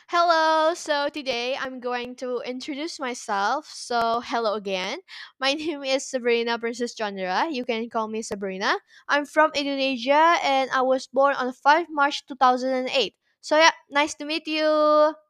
Hello, so today I'm going to introduce myself. So, hello again. My name is Sabrina Princess Chandra. You can call me Sabrina. I'm from Indonesia and I was born on 5 March 2008. So, yeah, nice to meet you.